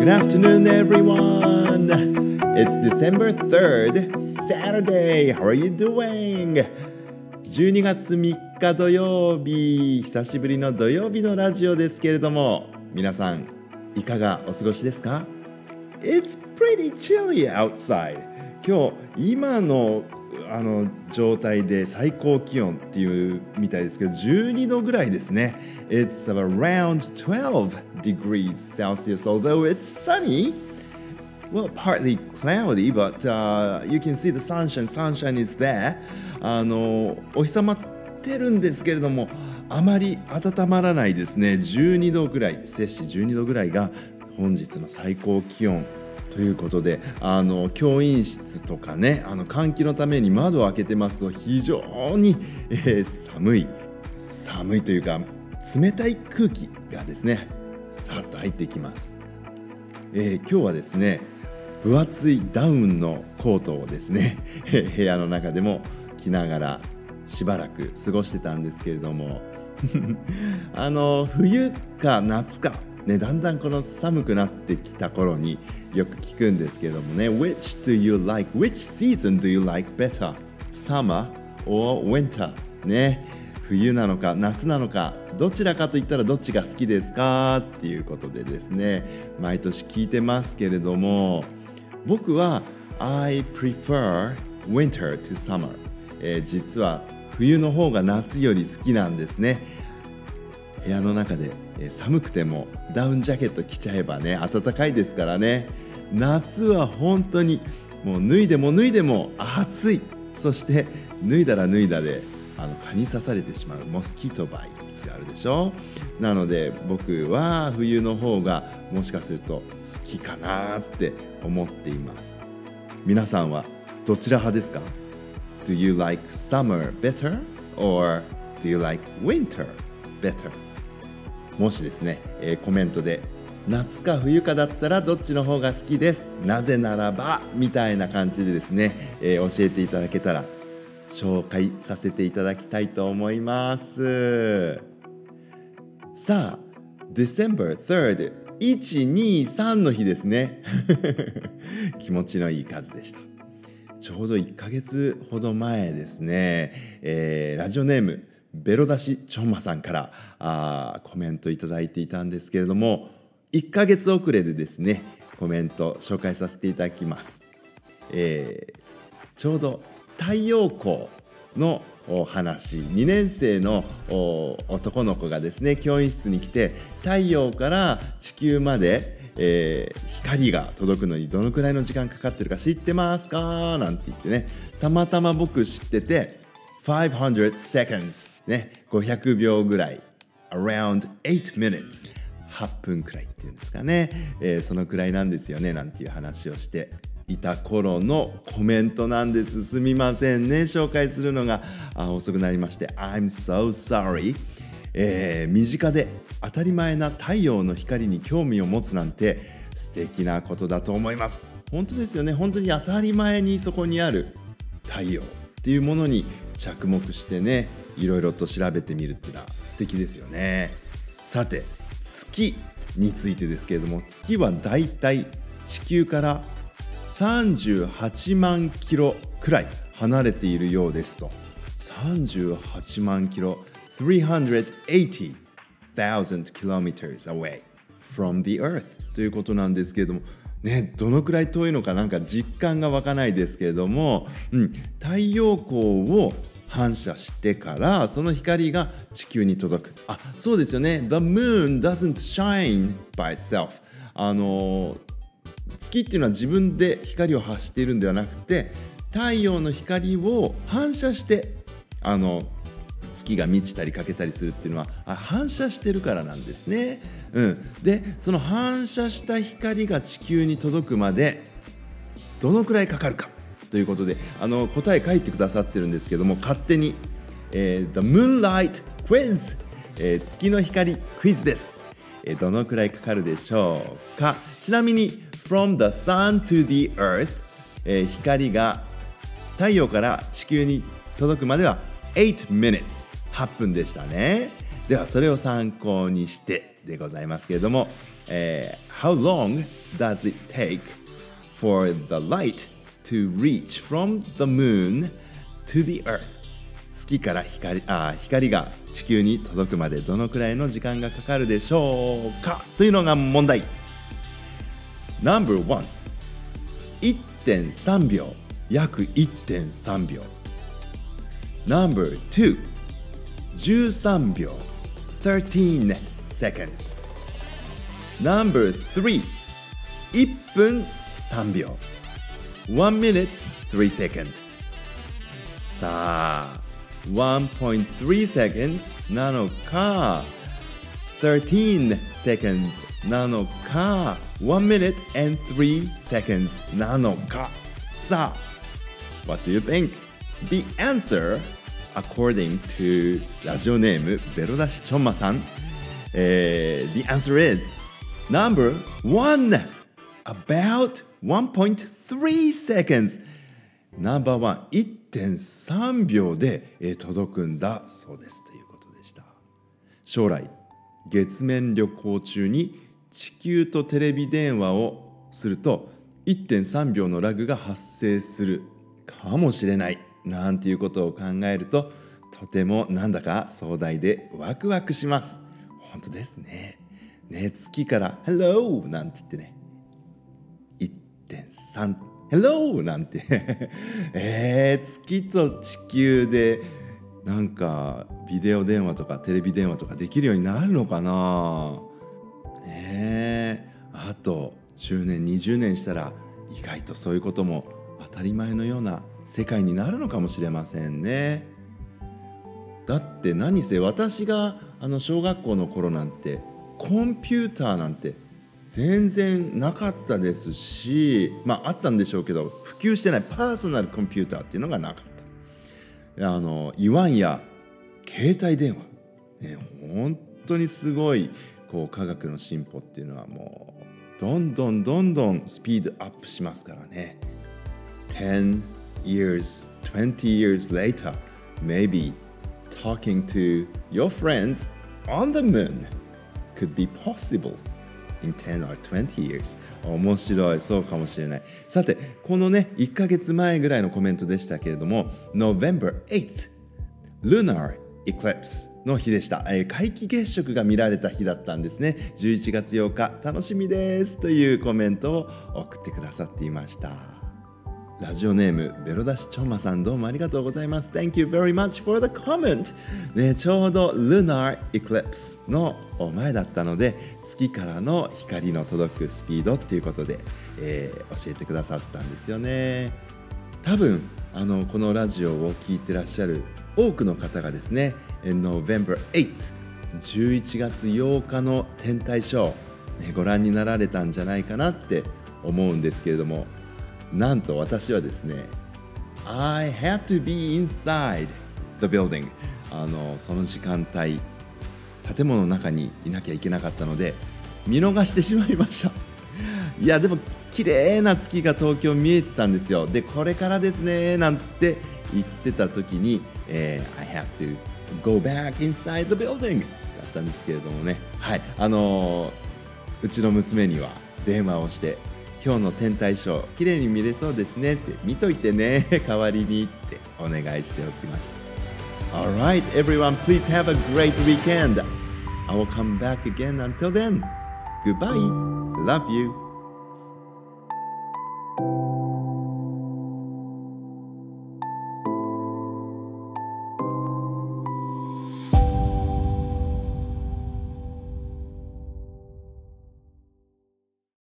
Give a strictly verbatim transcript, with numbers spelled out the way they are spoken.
Good afternoon, everyone. It's December third, Saturday. How are you doing? じゅうにがつみっか土曜日、久しぶりの土曜日のラジオですけれども、皆さんいかがお過ごしですか？ It's pretty chilly outside. 今日今のあの状態で最高気温っていうみたいですけどじゅうにどぐらいですね。 It's around twelve degrees Celsius, although it's sunny. Well, partly cloudy, but、uh, you can see the sunshine. Sunshine is there. あのお日様ってるんですけれどもあまり暖まらないですね。じゅうにどぐらい、摂氏じゅうにどぐらいが本日の最高気温ということで、あの教員室とかね、あの換気のために窓を開けてますと非常に、えー、寒い寒いというか冷たい空気がですねさっと入ってきます。えー、今日はですね分厚いダウンのコートをですね部屋の中でも着ながらしばらく過ごしてたんですけれどもあの冬か夏かね、だんだんこの寒くなってきた頃によく聞くんですけれどもね Which do you like? Which season do you like better? Summer or winter? ね、冬なのか夏なのかどちらかといったらどっちが好きですかっていうことでですね毎年聞いてますけれども僕は I prefer winter to summer、えー、実は冬の方が夏より好きなんですね。部屋の中で寒くてもダウンジャケット着ちゃえばね暖かいですからね。夏は本当にもう脱いでも脱いでも暑い。そして脱いだら脱いだであの蚊に刺されてしまうモスキートバイツがあるでしょ。なので僕は冬の方がもしかすると好きかなって思っています。皆さんはどちら派ですか？ Do you like summer better or do you like winter better?もしですね、えー、コメントで夏か冬かだったらどっちの方が好きです、なぜならばみたいな感じでですね、えー、教えていただけたら紹介させていただきたいと思います。さあ December third いちにさんの日ですね気持ちのいい数でした。ちょうどいっかげつほど前ですね、えー、ラジオネームベロ出しちょんまさんからあコメントいただいていたんですけれどもいっかげつ遅れでですねコメント紹介させていただきます。えー、ちょうど太陽光のお話にねんせいの男の子がですね教員室に来て太陽から地球まで、えー、光が届くのにどのくらいの時間かかってるか知ってますかなんて言ってねたまたま僕知っててごひゃく secondsね、ごひゃくびょうぐらい around eight minutes はっぷんくらいっていうんですかね、えー、そのくらいなんですよねなんていう話をしていた頃のコメントなんです。すみませんね紹介するのがあ遅くなりまして I'm so sorry、えー、身近で当たり前な太陽の光に興味を持つなんて素敵なことだと思います。本当ですよね。本当に当たり前にそこにある太陽っていうものに着目してねいろいろと調べてみるっていうのは素敵ですよね。さて月についてですけれども月はだいたい地球からさんじゅうはちまんキロくらい離れているようですと。さんじゅうはちまんキロ three hundred eighty thousand kilometers away from the earth ということなんですけれどもね、どのくらい遠いのかなんか実感が湧かないですけれども、うん、太陽光を反射してからその光が地球に届く。あ、そうですよね。The moon doesn't shine by itself。あの月っていうのは自分で光を発しているんではなくて太陽の光を反射してあの月が満ちたり欠けたりするっていうのはあ反射してるからなんですね、うん、でその反射した光が地球に届くまでどのくらいかかるかということであの答え書いてくださってるんですけども勝手に、えー、The Moonlight Quiz、えー、月の光クイズです、えー、どのくらいかかるでしょうか。ちなみに From the Sun to the Earth、えー、光が太陽から地球に届くまではeight minutes はっぷんでしたね。 ではそれを参考にしてでございますけれども、えー、How long does it take for the light to reach from the moon to the earth? 月から 光, あ光が地球に届くまでどのくらいの時間がかかるでしょうかというのが問題。 ナンバーワン いってんさんびょう、約 いってんさんびょう。 ナンバーツー じゅうさんびょう thirteen seconds。 ナンバースリー いっぷんさんびょう one minute three seconds。 さあ one point three seconds なのか thirteen seconds なのか one minute and three seconds なのか。さあ What do you think? The answer, according to ラジオネームベロダシチョンマさん、uh, The answer is number one, about one point three seconds。 ナンバーワン いってんさんびょうで、えー、届くんだそうですということでした。将来月面旅行中に地球とテレビ電話をすると いってんさんびょうのラグが発生するかもしれないなんていうことを考えると、とてもなんだか壮大でワクワクします。本当ですね。ね、月から「Hello」なんて言ってね いってんさん Hello なんてえー、月と地球でなんかビデオ電話とかテレビ電話とかできるようになるのかなね。あとじゅうねんにじゅうねんしたら意外とそういうことも当たり前のような世界になるのかもしれませんね。だって何せ私があの小学校の頃なんてコンピューターなんて全然なかったですし、まああったんでしょうけど普及してないパーソナルコンピューターっていうのがなかった。あのいわんや携帯電話、ね、本当にすごいこう科学の進歩っていうのはもうどんどんどんどんスピードアップしますからね。ten years, twenty years later, maybe talking to your friends on the moon could be possible in ten or twenty years。 面白い、そうかもしれない。さてこのねいっかげつまえぐらいのコメントでしたけれども November eighth Lunar Eclipse の日でした、えー、皆既月食が見られた日だったんですね。じゅういちがつようか楽しみですというコメントを送ってくださっていました。ラジオネームベロダシチョンマさん、どうもありがとうございます。 Thank you very much for the comment、ね、ちょうど Lunar Eclipse の前だったので月からの光の届くスピードっていうことで、えー、教えてくださったんですよね。多分あのこのラジオを聞いてらっしゃる多くの方がですね November eighth じゅういちがつようかの天体ショー、ね、ご覧になられたんじゃないかなって思うんですけれども、なんと私はですね I had to be inside the building、 あのその時間帯建物の中にいなきゃいけなかったので見逃してしまいました。いやでも綺麗な月が東京見えてたんですよ。でこれからですねなんて言ってた時に、えー、I have to go back inside the building だったんですけれどもね、はい、あのー、うちの娘には電話をして今日の天体ショー綺麗に見れそうですねって見といてね代わりにってお願いしておきました。 Alright everyone, please have a great weekend. I will come back again. Until then, goodbye. Love you.